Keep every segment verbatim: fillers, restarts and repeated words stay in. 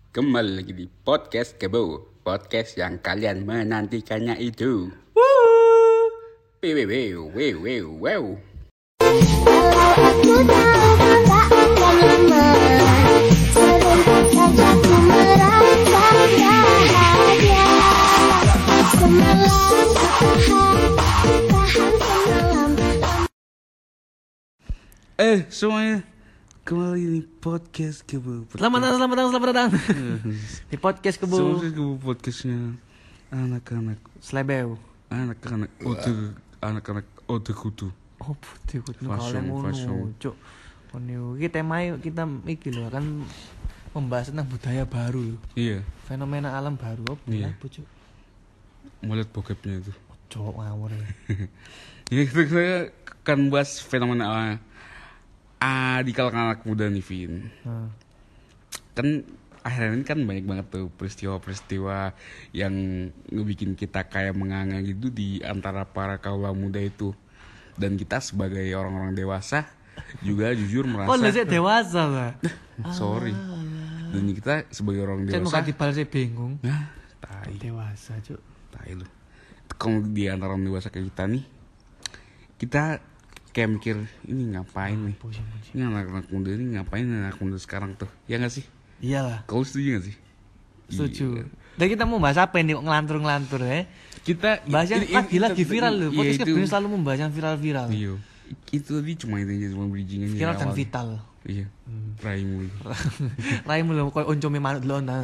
Kembali lagi di Podcast Kebo, podcast yang kalian menantikannya itu. Woo! Wew, wew, wew, wew, wew. Aku tahu tak akan lama, sebentar saja ku merasa bahagia. Semalam ku tahan, tahan semalam. Eh semuanya, kembali di Podcast Kebo. Selamat datang, selamat datang, selamat datang di podcast Kebo. Semuanya Kebo podcastnya anak-anak, Slebeu. anak-anak ode, anak-anak ode kudu. Oh, putih kudu Fashion, kalau fashion. ngono, cuk. Ono iki temae kita iki lho akan membahas tentang budaya baru. Iya, Fenomena alam baru apa Iya. ya, cuk? melihat bokepnya itu. Cuk ngawur. ya. Ya kita, kita akan bahas fenomena ah, di kalangan anak muda nih, Vin. Nah, Kan akhirnya ini kan banyak banget tuh peristiwa-peristiwa yang ngebikin kita kayak menganga gitu di antara para kaula muda itu. Dan kita sebagai orang-orang dewasa juga jujur merasa kok lu sih dewasa lah. sorry. Dan kita sebagai orang Cek muka dewasa, dibal sih bingung. nah, tai, Dewasa, cuk. tai lu. Kalau di antara orang dewasa kayak kita nih, kita kayak mikir ini ngapain nih? Pusing, pusing. Ini anak-anak muda ini ngapain anak muda sekarang tuh? Ya nggak sih? Iyalah, Kau setuju gak sih? setuju. Iya. Dan kita mau bahas apa nih kok ngelantur-ngelantur ya? Kita Bahas yang ini- lagi ini- lagi viral loh. Iya, Podcast itu. Kebo selalu membahas yang viral-viral. Iya. Itu tadi cuma intinya cuma bridging aja. Viral dan awalnya. vital. Iya. Raimu. Raimu lho koyo oncome manuk delok nang.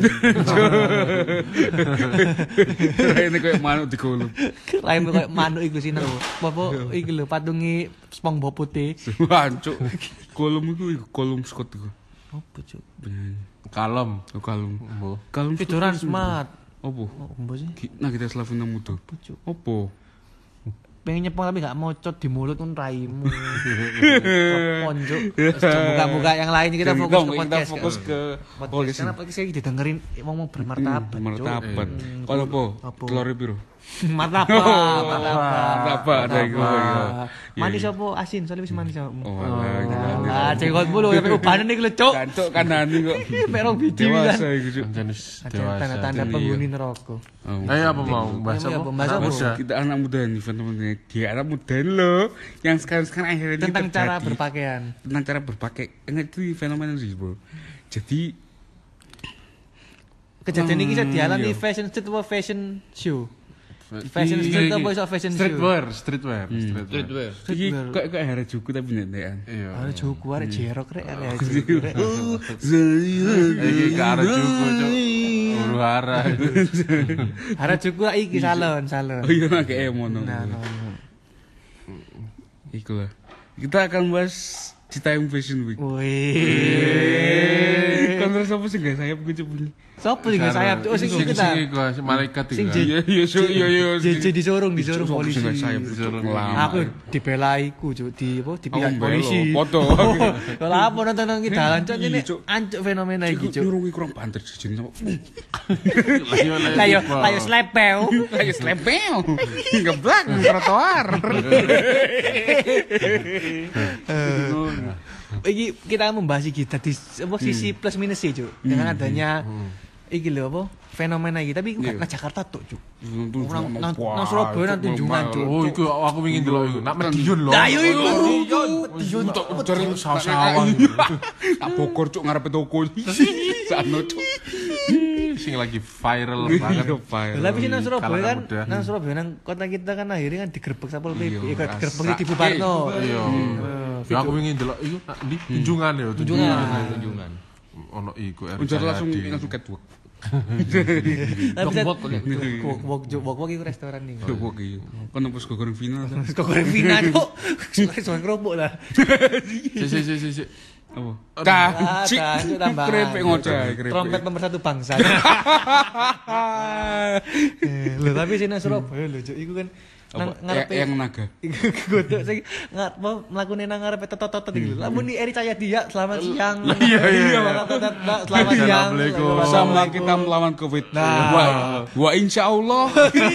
Raine kayak manuk di kolom. Raimu koyo manuk iku sih nang. Apa iki lho patungi SpongeBob putih. Hancuk. Kolom itu kolom Scott itu. Apa cuk? Kalem. Oh, kalung. Mbo. Kalung Tiduran smart. Opo? Oh, mbok sih. Ki- Nah kita Slavina muda. Apa cuk? Opo? Pengen nyepong tapi gak mocot di mulut kan raimu. Ponjuk. Buka-buka yang lain kita Jadi fokus dong, ke kita podcast. fokus kan? ke podcast. podcast Karena podcast ini didengerin ngomong bermartabat. Cuk. Martabat. Hmm, Kalau apa? apa? Telur biru. Martabat, martabat. Martabat, ada iku, iya. Manis Iya, apa asin? Soalnya wis manis apa? Oh, alah, gila. Ah, cekot mulu sampai ubanan iki lho, Cuk. Cancuk kanani kok. Merong biji wilan. Dewasa iku, Cuk. Jenis Ada dewasa. tanda-tanda Iya. penghuni neraka. Oh. Ayo apa mau bahas Iya, apa? bahas Anak apa? muda. Kita anak muda nih, teman-teman. Dia anak muda loh, yang sekarang-sekarang akhirnya ini Tentang cara terjadi. berpakaian. Tentang cara berpakaian. Enggak itu fenomena sih, bro. Jadi Kejadian ini bisa Hmm, dialami iya. fashion street apa fashion show? Fashion street apa iso fashion show? Streetwear, streetwear, streetwear. iki kayak kayak hari juku tapi nendekan. Iya. Ada juku, ada jerok rek, ada Oh, jerok rek. Iki ke arah cukup, Cuk. Huru hara. Ada juku lah iki salon, salon. Oh iya kayak mono. Nah, no, no. Iku lah. Kita akan bahas Citayam Fashion Week. Wih. Kan terus apa sih guys? Saya gue coba. Sopo sing sayap tuh sing Sing kita. sing iku si malaikat Sing iku. Iya iya so iya iya. J J disorong, disorong polisi. Saya Disorong. Aku dibelaiku Cuk, di apa di pihak Oh, polisi. belo, foto. Kalau apa nonton nang kita jalan ini Cuk. ancuk fenomena iki Cuk. Nyurungi kurang banter jejen sama. Lah yo lah yo slepeu. Kayak slepel. Geblak trotoar. Iki kita membahas iki tadi apa sisi plus minus sih Cuk. Dengan adanya iki lho apa fenomena iki tapi enggak nang Jakarta tuh Cuk. Nang nang nang Surabaya nang Tunjungan Cuk. Oh, iku aku ingin delok iku. Nak Medion lho. Lah yo iku. Medion tok cari sasawan. Tak Bogor cuk ngarepe toko. Sano cuk. Sing lagi viral banget. Lah tapi sih nang Surabaya Kalangan kan muda. nang Surabaya nang kota kita kan akhirnya kan digerebek Satpol P P, Iya, eh, digerebek rasa. di Bubarno. Iya. Ya aku ingin delok iku nak di tunjungan ya, tunjungan. Tunjungan. Ono iku Eri Ujar langsung Cahyadi. langsung catwalk. Tapi Wok-wok kok ya? wok wok wok wok iku restoran nih. Catwalk iya. Kan apa sego goreng final. Kok goreng Vina Cuk. Soal kerupuk lah. Si si si si si. Apa? Ah, Cacik. Cuk, tambahan. Krepek ngoceh, krepek. Trompet nomor satu bangsa. Eh, Lho tapi sih nang Surabaya lho Cuk, iku kan nang Apa? ngarepe Ya- yang naga. Godok sing ngar mau mlakune nang ngarepe tetot-tetot iki lho. Lamun ni Eri Cahyadi ya selamat siang. Iya iya. Selamat siang. Assalamualaikum. Bersama kita melawan Covid. Nah. Wa, wa insya Allah.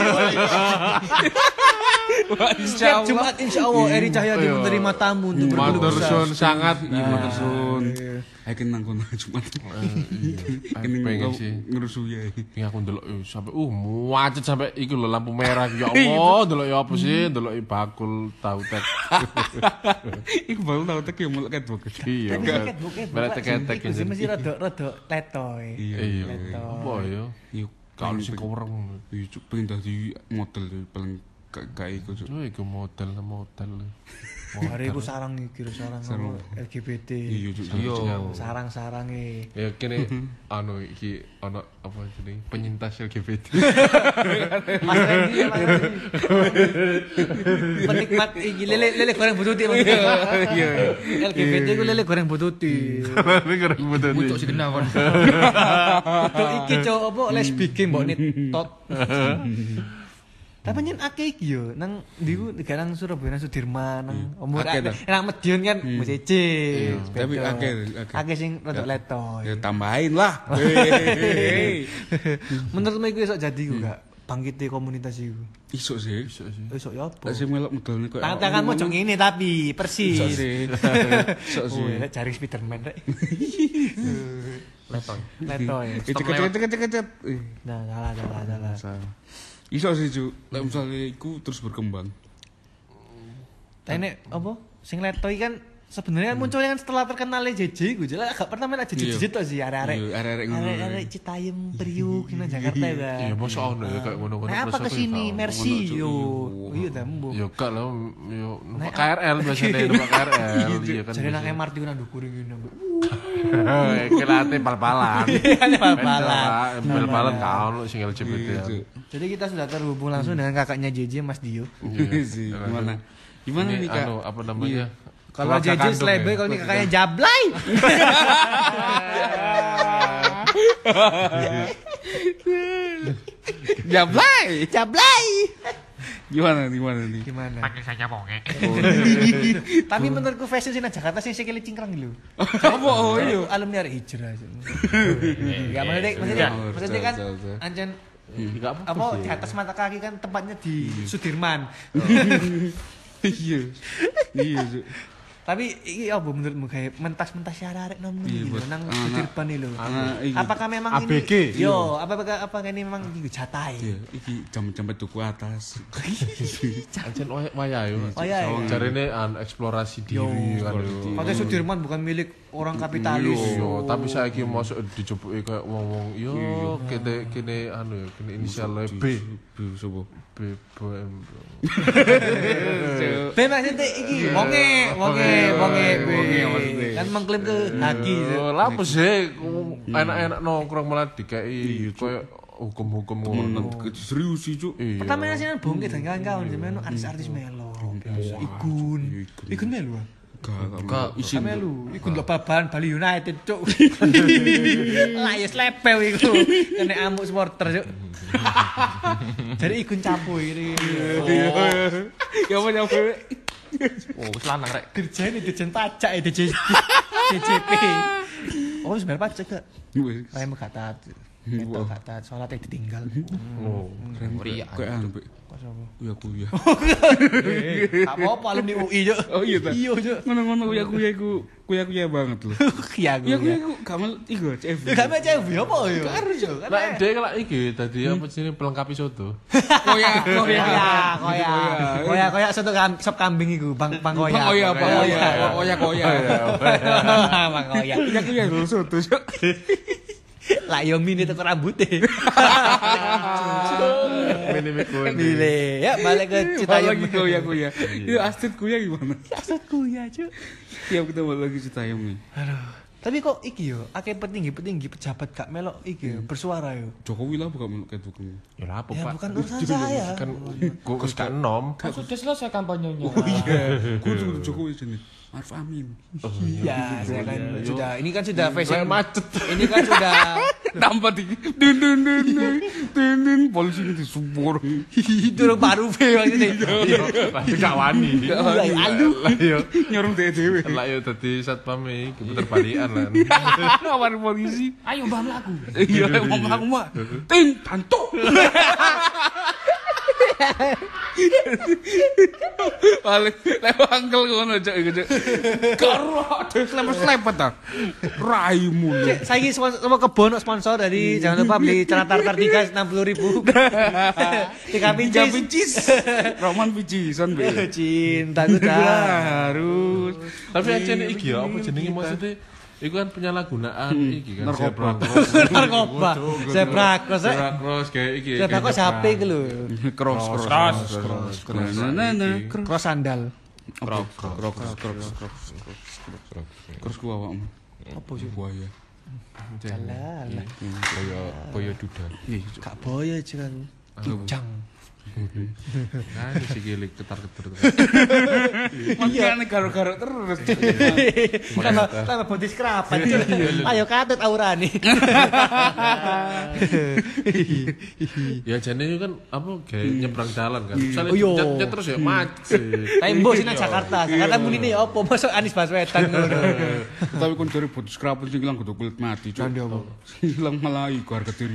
Wa insya Setiap Allah. Jumat insya Allah Eri Cahyadi Iya. menerima tamu untuk Matur berkeluh kesah. suwun sangat. Iya, Matur suwun. Ayo nang kono Jumat. Pengen pengen sih. Ngerusu ya. Iki aku ndelok sampai uh macet sampai iku lho lampu merah ya Allah, ndelok ya apa sih? Ndelok bakul tahu tek. Iku bakul tahu tek ya mulek ketbuk. Iya. Merek tek-tek iki mesti rada-rada letoy. Iya. Apa ya? Yo Kalau sing koreng. Iya cuk pengen dadi model paling gak iku cuk. Oh iku model model. Hari iku sarang iki sarang L G B T. Iya cuk. Sarang-sarange. Ya kene anu iki ana apa jenenge penyintas L G B T. Mas Randy, Mas Randy. Penikmat iki lele lele goreng bututi. Iya. L G B T ku lele goreng bututi. Lele goreng bututi. Untuk si kena kon. Untuk iki cok apa lesbike mbok nitot. Tapi nyen akeh iki yo nang ndiku nang Surabaya nang Sudirman nang umur nang Medion kan musece. Tapi akeh akeh sing rada letoy. Ya tambahin lah. Menurutmu iku iso jadi ku gak bangkite komunitas iku? Iso sih. Iso sih. Iso ya apa? Lah sing melok medalne koyo Tangan-tanganmu cok ngene tapi persis. Iso sih. Iso sih. Oh, cari Spiderman rek. Letoy. Letoy. Cek-cek-cek-cek. Nah, salah salah salah. Iso sih cuk. Lek misale iku terus berkembang. Tapi nek apa? Sing letoy kan sebenarnya munculnya kan setelah terkenalnya J J gue jelas agak pertama aja J J tok sih arek-arek. Iya, arek-arek ngono. Arek-arek Citayam Priuk nang Jakarta ya. Iya, mosok ono ya kayak ngono-ngono. Nah, apa kesini Mercy yo. Iya ta mbuh. Yo gak lho, yo numpak K R L biasanya numpak K R L iya kan. Jadi nang M R T ku nang ndukur ngene. Kelate pal-palan. Pal-palan. Pal-palan kaon sing L G B T. Jadi kita sudah terhubung langsung dengan kakaknya J J Mas Dio. Iya sih. Gimana? Gimana nih Kak? Anu apa namanya? Kalau J J Slebe, kalau ini kakaknya Jablay. Jablay. Jablay. Gimana gimana nih? Gimana? Panggil saja bonge. Tapi menurutku fashion sih nang Jakarta sih sikile cingkrang lho. Apa oh iya? Alumni arek hijrah. Enggak maksudnya maksudnya maksudnya kan ancen apa di atas mata kaki kan tempatnya di Sudirman. Iya. Iya. Tapi iki apa menurutmu kayak mentas-mentas arek nom gitu nang Sudirman iki lho. Apakah memang A B G? ini yo apakah apa ini memang iki jatah Iya, iki jam-jam tuku atas. Ancen waya yo. Oh iya. Jarene an eksplorasi diri kan yo. Padahal Sudirman bukan milik orang kapitalis. Yo, tapi saiki mosok dicoboki kayak wong-wong yo kene kene anu yo kene inisial B. B sopo? B B M. B maksudnya iki wonge, wonge, wonge, wonge. Kan mengklaim ke Haki. Lah apa sih enak-enak nongkrong malah dikai koyo hukum-hukum ngono. Serius sih, Cuk. Pertama sih bongke dan kawan-kawan jemen artis-artis melo. Igun. Igun melo. Gak isin melu. Igun lho baban Bali United, Cuk. Lah ya slepel iku. Kene amuk supporter, Cuk. Jadi ikun capu ini. Ya apa ya apa? Oh, wis lanang rek. Dirjen dirjen pajak ya D J D J P. Oh, wis bayar pajak gak? Wis. Rem gak taat. Itu gak taat, salatnya ditinggal. Oh, Ria. Kayak anu, Pak. Kok sapa? Uya kuya. Gak apa-apa alumni U I, Cuk. Oh iya ta. Iya, Cuk. Ngono-ngono uya kuya iku kuya kuya banget lho. Iya, Uya kuya iku gamal iku C F. Gak baca U I apa ya? Harus yo. lah dhek lah iki dadi apa jenenge pelengkapi soto. Koya koya. Koya, koya. Koya, koya soto sop kambing iku, Bang Bang Koya. Bang Koya, Bang Koya. Koya koya. Bang Koya. Uya kuya lho soto, Cuk. Lah yo mini teko rambute. Mini mikun. Mile, ya balik ke Citayam. Lagi kuya kuya. Itu Astrid kuya gimana? Astrid kuya, Cuk. Tiap kita balik lagi Citayam nih. Aduh. Tapi kok iki yo, akeh petinggi-petinggi pejabat gak melok iki bersuara yo. Jokowi lah bukan melok kayak tukang. Ya lah apa, Ya Pak? bukan urusan saya. Kan Gus gak enom. Kan sudah selesai kampanyenya. Oh iya. Gue tuh Jokowi sini. Maruf Amin. Iya, saya kan sudah ini kan sudah fashion macet. Ini kan sudah Tanpa di dun dun dun dun dun dun polisi itu subur. itu baru fe maksudnya. Tapi gak wani. Iya, aduh. Lah yo Nyorong dewe. lah yo dadi satpam iki puter balikan lan. Ngawar polisi. Ayo mbah mlaku. Iya, mau mlaku, Mak. Ting tantuk. Paling lewat angkel ngono cok iku cok. Karo dhewe slepet-slepet ta. Raimu. Cek, saiki sama kebon sponsor dari jangan lupa beli celana tartar tiga enam puluh ribu. Tiga Tiga pincis. pincis. Roman pincisan be. Cintaku tak. Harus. Tapi aja nih iki ya, apa jenenge maksudnya? Iku kan penyalahgunaan iki kan. Narkoba. Narkoba. Zebra cross. Zebra cross kayak iki. Zebra cross H P iki lho. Cross cross cross cross. Nah nah Cross sandal. cross cross cross cross cross ku awakmu. Apa sih? Buaya. Alah, alah. Koyo koyo duda. Gak boyo kan. Kijang. Nah, si gilik ketar-ketar. Makanya garuk-garuk terus. Tambah tambah body scrub. Ayo katut aurane. Ya jane itu kan apa kayak nyebrang jalan kan. Misalnya Oh, iya. jet terus ya macet. Tapi mbok sing nang Jakarta. Jakarta muni ne opo? Masuk Anies Baswedan ngono. Tapi kon jare body scrub sing ilang kudu kulit mati, Cuk. Ilang malah iku harga diri.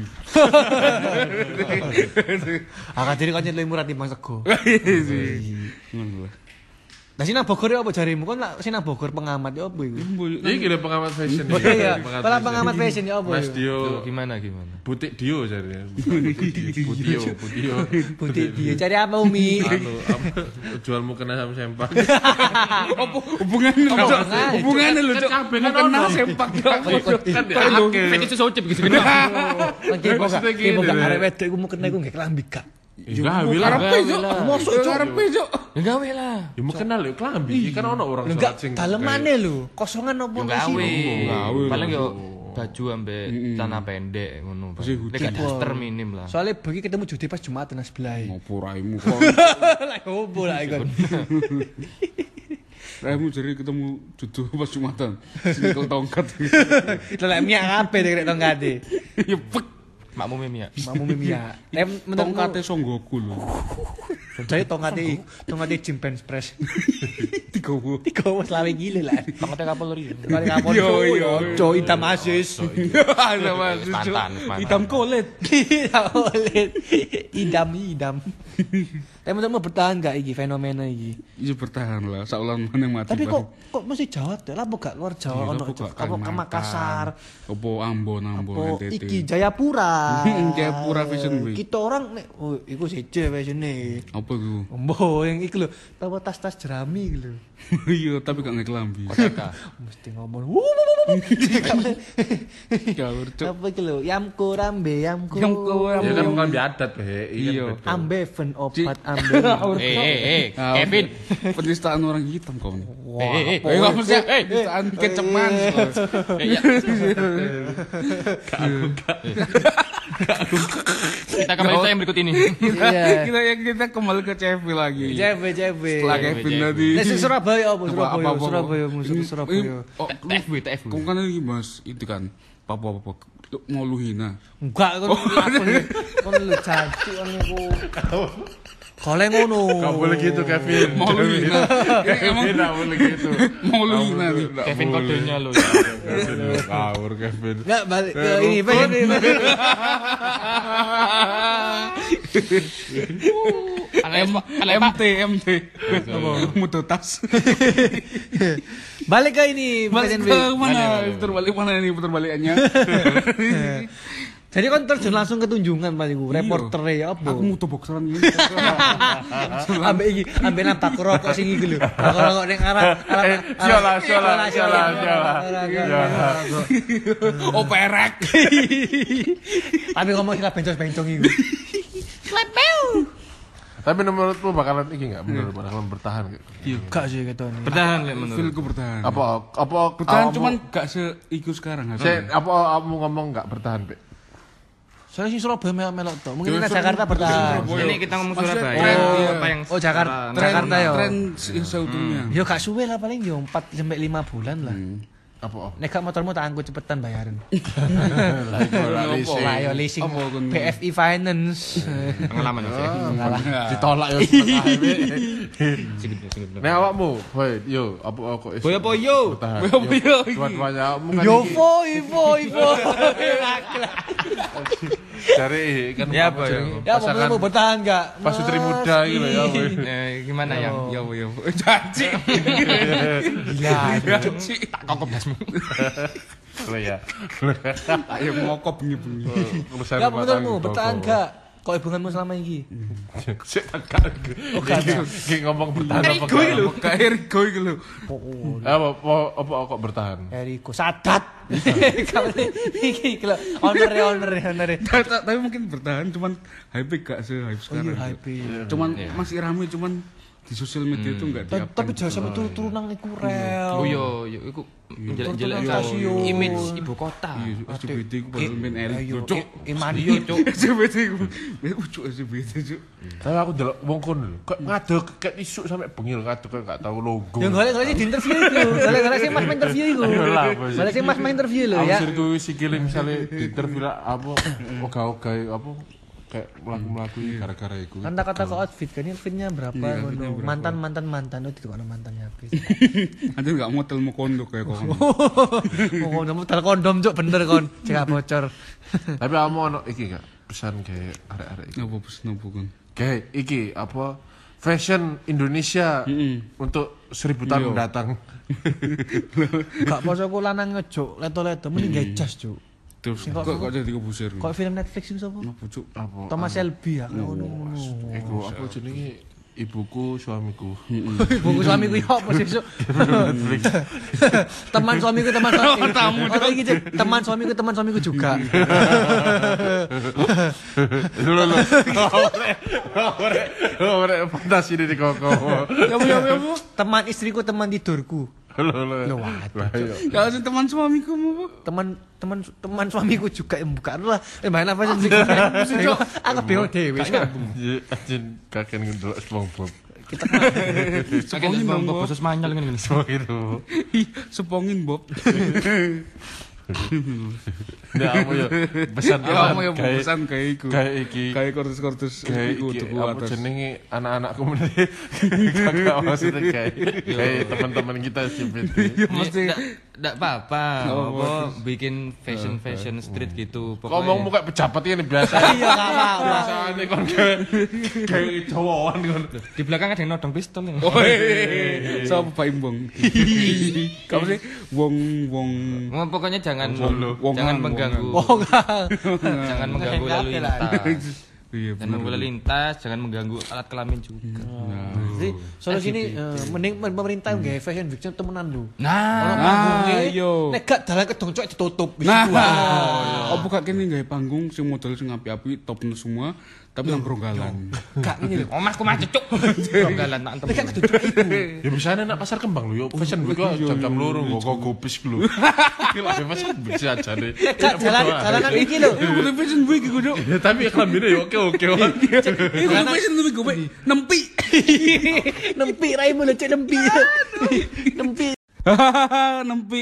Harga diri kan lebih murah timbang sego. Ngono lah. Lah sing nang Bogor ya apa jarimu? Kon lak sing nang Bogor pengamat ya apa iku? Iki lho pengamat fashion. Oh iya, kalau pengamat fashion ya apa? Mas iku? Dio Gimana gimana? butik Dio jadinya. Budio, Budio. Butik dia cari apa Umi? Anu, apa jual mukena sama sempak. Apa hubungannya lho, Cuk? Hubungannya lho, Cuk. Kan Kena ono. sempak. Kan dia Fetish socip gitu gini. Oke, kok Maksudnya gak gini, kok gak deh. arek wedok iku mukena iku gak kelambi gak. Enggak, wilah. Karepe, Cuk. Mosok, Cuk. Karepe, Cuk. Ya gawe lah. Ya mau kenal ya klambi, kan ono orang Lho sholat gak sing dalemane lho, kosongan opo Yo gawe. Gawe. Paling yo baju ambek celana pendek ngono. Masih Nek gak daster minim lah. Soalnya bagi ketemu Judi pas Jumatan sebelah. Ngopo raimu kok. Lah opo lah iku. Raimu jare ketemu jodoh pas Jumatan. Sing tongkat. Lah miak kabeh nek tongkate. Ya pek. Makmu mimia. Mamu miak. Nek Tongkate Songgoku lho. Jadi tongkate tongkate Jim Bench Press. Digowo. Tiga wis lawe gile lah. Tongkate Kapolri. Kali kapon Yo, yo yo. ojo hitam asis. Sama Mantan, mantan. hitam kulit. Tidak boleh. Idam idam. Tapi menurutmu bertahan gak iki fenomena iki? Iya bertahan lah, saulan meneng mati. Tapi kok kok mesti Jawa teh? Lah kok gak luar Jawa ono apa ke Makassar? Apa Ambon, Ambon, Apa N T T. iki Jayapura? Jayapura Fashion Week. Kita orang nek oh iku siji fashionnya. Apa iku? Mbok yang iku lho, tawa tas-tas jerami iku lho. Iya, tapi gak ngekelambi. Mesti ngomong. "Wuh, wuh, wuh, wuh." Gawur, Cuk. Apa iki lho? Yamku rambe, yamku. Yamku, Ya kan klambi adat be. Iya. Ambeven obat ambe. Eh eh eh Kevin. Penistaan orang hitam kau nih. Eh eh eh. Eh, kamu sih penistaan keceman. Eh, ya. Kita kembali ke yang berikut ini. Iya. Kita ya kita kembali ke C V lagi. J B J B. Setelah Kevin tadi. Nek sing Surabaya apa? Apa- Surabaya, apa- apa- Surabaya, musuh Surabaya. Oh, T F W T F W. kamu kan lagi mas itu kan apa apa mau lu hina. Enggak kon kon lu janji kon niku. Kale ngono. Gak boleh gitu Kevin. Mau lu hina. Emang Kevin gak boleh gitu. mau lu hina nih. Kevin kodenya lo. Kevin lu ngawur Kevin. Enggak balik ke ini pengen ini. M T M T mutu tas. Balik ke ini Balik Fashion ke Week. mana? Putar balik mana ini putar balikannya? Jadi kan terjun langsung ke tunjungan paling gue, reporter ya apa? Aku mutu bokseran gini. Ambek iki, ambek nampak rokok sing iki lho. Rokok ning arah arah Siola, siola, siola, siola. Oh perek. Tapi ngomong istilah bencong-bencong iku. Tapi menurutmu bakalan iki enggak bener bakalan bertahan enggak? Iya, gak sih ketone. Bertahan lek menurut. Feelku bertahan. Apa apa Bertahan kamu- cuman gak seiku sekarang. Saya apa kamu ngomong enggak bertahan, Pe? Soalnya sing Surabaya melok-melok to. Mungkin Ya, nek Surabaya- Jakarta bertahan. Surabaya. Ini kita ngomong Maksudnya Surabaya. tren, iya. Apa yang Oh, Jakarta. secara- Tren, Jakarta ya. tren se- seutuhnya. Ya gak suwe lah paling yo empat sampai lima bulan lah. Apa? Nek gak motormu tak angkut cepetan bayaran. Lah iku ora leasing. Lah yo leasing Apa kon- B F I Finance. Pengalaman ya. Ngalah. Ditolak ya setengah, Pe. Sedikit sedikit. Nek awakmu, boy, yo apa kok is- Boy apa yo? bertahan? Boy apa yo? Buat banyak kamu kan Yo iki- vo, ivo, ivo. Cari kan Ya, apa ya? Ya apa mau bertahan enggak? Pas Sutri muda gitu ya. Eh, gimana yang? Ya apa ya. Janji. Gila. Janji. Tak kokop dasmu. Lo ya. Ayo ngokop bengi-bengi. Urusan Ya rumah tangga. menurutmu bertahan enggak? Kok hubunganmu selama ini? Sik tak Ki ngomong bertahan apa Gue lho, kayak Eriko iki lho. Apa apa apa kok bertahan? Eriko Sadat. Kamu iki iki lho. Honor honor honor. Tapi mungkin bertahan cuman hype gak se-hype sekarang. Iya, hype. Cuman masih rame cuman di sosial media itu enggak Ta- diupdate. Tapi jangan sampai turun-turun nang iku rel. Oh yo yo iku jelek-jelek Stasiun. image ibu kota. Iya, S C B T ku padahal main Erik. Ayo, Cuk. Iman Iya, Cuk. S C B T ku. Ucuk S C B T, Cuk. Tapi aku delok wong kono lho. Kok ngadeg kayak isuk sampe bengil ngadeg kok gak tau logo. Ya golek-golek sih di interview iku. Golek-golek sih Mas main interview iku. Ayo lah, bos. Golek sih Mas main interview lho Aku ya. sir kuwi sikile misale di interview lah apa oga-oga apa kayak melaku-melaku gara-gara iku. Kata-kata ke outfit kan outfitnya berapa ngono. Mantan mantan mantan itu kan mantannya habis. Ada enggak motel mau kondo kayak kok. Oh, kamu tel kondom cuk bener kon. Cek bocor. Tapi kamu ono iki gak pesan kayak arek-arek iki. Apa pes nopo kan? Kayak iki apa fashion Indonesia untuk seribu tahun mendatang. Gak poso ku lanang ngejuk leto-leto mending gawe jas cuk. Terus kok kok jadi kebusir. Kok film Netflix itu sapa? Apa cuk? Apa? Thomas Shelby ya ngono. Iku apa jenenge ibuku suamiku. Buku suamiku yo apa sih cuk? Teman suamiku teman suamiku. Tamu oh, iki Cuk. Teman suamiku teman suamiku juga. Lho lho. Ore ore fantasi di koko. Ya ya ya. Teman istriku teman tidurku. Lho lho. Lho waduh. Ya sing teman suamiku mau. Teman teman teman suamiku juga yang bukan lah. Eh main apa sih? Aku bingung dhewe. Anjing kakek ndelok SpongeBob. Kita Sepongin bang khusus manyal ngene. Oh gitu. Ih, sepongin Bob. Nah, kamu ya pesan Ya kamu ya pesan kayak iku. Kayak iki. Kayak kortus-kortus Kayak iku iki tuku apa atas. jenenge anak-anak komunitas. Kakak maksudnya kayak kayak teman-teman kita S C B T. Ya mesti Nggak apa-apa, Oh, apa bikin fashion fashion street gitu. Ngomong muka pejabat ini biasa. iya enggak apa-apa. Biasane kon kayak kayak cowok kon. Di belakang ada yang nodong pistol. Oh, sapa Pak Imbong? Kamu sih wong wong Ngomong pokoknya jangan Wong- jangan wongan, mengganggu. Oh enggak. Jangan mengganggu lalu lintas. Iya, Jangan mengganggu lalu lintas, jangan mengganggu alat kelamin juga. Jadi solusi ini eh, mending pemerintah nggak fashion week temenan lu. Nah, Ono Nah, panggungnya, iya. nek gak dalan kedong cok ditutup. Wis Nah, iku wae. apa gak kene gawe panggung sing model sing api-api topnya semua tapi nang pronggalan. Gak ini lho. omahku mah cecuk. Galan tak Nek gak entem. kedong iku. Ya biasanya nak pasar kembang lho, yo fashion week kok jam-jam loro nggo gopis lho. Gila fashion week sih aja deh. Nek gak jalan jalanan iki lho. Iku kudu fashion week iku, Dok. Ya tapi klambine yo oke-oke. Iku kudu fashion week gue nempi. Nempi raimu lho cek nempi. Nempi. Nempi.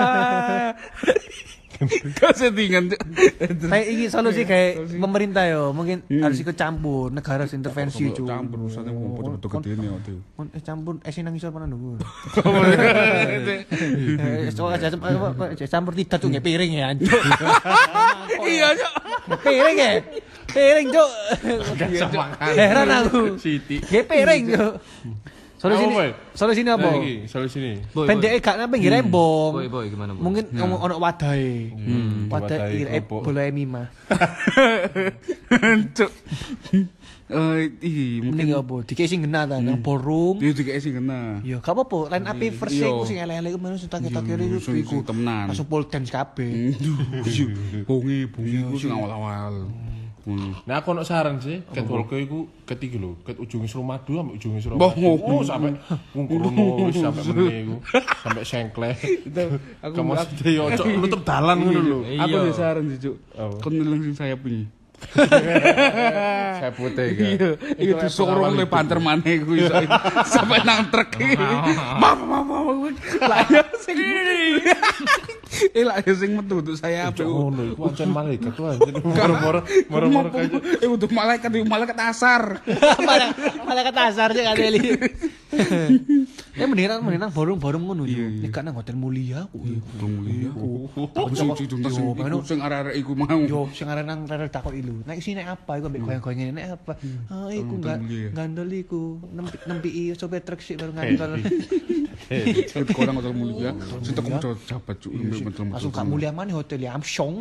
Kau settingan. Kayak iki solusi kayak pemerintah yo, mungkin harus ikut campur, negara harus intervensi cu. Campur usane wong foto-foto gedene waktu. Kon eh campur es nang isor panan nunggu. Eh soalnya aja campur tidak tuh nggak piring ya anjir. Iya, Cok. Piring ya. Piring cuk. Heran aku. Siti. Nggak piring cuk. Solusi Apa, ini, Boy? solusi ini apa? Nah, iki solusi ini. Boy, Pendeknya gak ngambil ngira embong. Boy, boy, gimana, boy? Mungkin ngomong ono wadai. Wadah wadai kira eh kerupuk. bola mima. Cuk. Eh, iki mungkin Mending apa? Dikei sing ngena ta nang ballroom. dia juga sing kena. Ya gak apa-apa, line up first Iya. iku sing elek-elek iku sing tak-tak kiri iku sing- iku. sing temenan. Langsung pole dance kabeh. Bungi, bungi ku sing awal-awal. Ngono. Nah aku ono saran sih, ket Wolko iku ketiga lho, ket ujunge Suramadu ambek ujunge Mbah, Suramadu. ngono. Oh, sampai wong krono wis sampai meneh iku. Sampai sengkleh. Aku Kamu sedhe yo cok nutup dalan ngono lho. Aku ada saran sih, Cuk. Kon neleng sing sayap ini. Saya putih kan. Iya, iya disorong le banter maneh ku iso sampai nang truk. Mama mama. Lah ya sing Eh lah ya sing metu untuk saya apa? Ngono iku ancen malaikat tuh anjir. Moro-moro moro-moro kayak Eh untuk malaikat, malaikat asar. Malah malah kata asar sih kali. Ya mendingan mendingan borong-borong ngono yo. Nek nang hotel mulia ku. Hotel mulia. Aku sing sing sing arek-arek iku mau. Yo sing arek nang rel takok ilu. Nek sini apa iku ambek goyang-goyang nek apa? Ah iku enggak gandol iku nempi sopir truk sik baru ngandol. Itu kurang hotel mulia. Sing teko metu jabat cuk metu. Langsung gak mulia mana hotel ya Amsyong.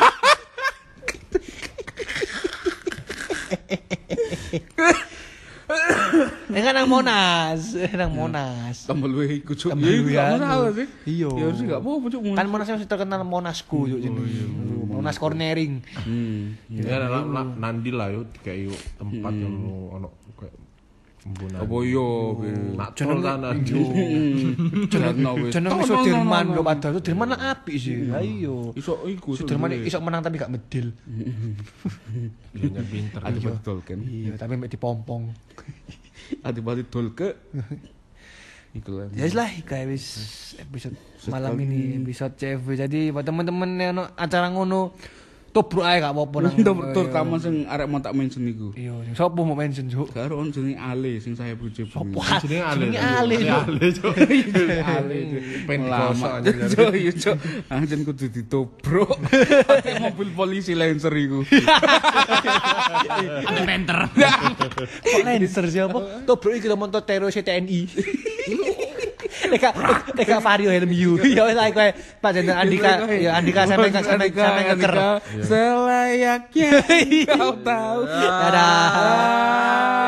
Eh kan nang Monas, nang Monas. Tambah luwe iku cuk. Tambah luwe Iya, masalah sih. Iya. Ya harus enggak apa-apa cuk. Kan Monas masih terkenal Monasku cuk jenenge. Monas Cornering. Hmm. Ya nandi lah yo kayak yo tempat yang ono kayak pembunan. Apa yo? Nak jeneng kanan yo. Jeneng Sudirman lho padahal Sudirman lah apik sih. Ha iya. Iso iku. Sudirman iso menang tapi gak medil. Iya pinter. Ada betul kan. Iya, tapi mek dipompong. Adi-adi dol ke. Iku lah. Ya wis lah kayak wis episode malam ini episode C F W. Jadi buat teman-teman yang ono acara ngono tobruk ae gak apa-apa nang. Terutama sing arek mau tak mention iku. Iya, sapa mau mention juk? Karo on jenenge Ale sing saya puji. Sopo? Jenenge Ale. Jenenge Ale. Ale cuk. Ale pen kosok Cuk, yo cuk. Anjen kudu ditobrok. Pakai mobil polisi Lancer iku. Penter. Kok Lancer siapa? Tobruk iki lho montor teror C T N I. Deka deka Vario helm you. Ya wis ae kowe Pak Jenderal Andika, ya Andika sampe sampe sampe ngeker. Selayaknya kau tahu. Dadah.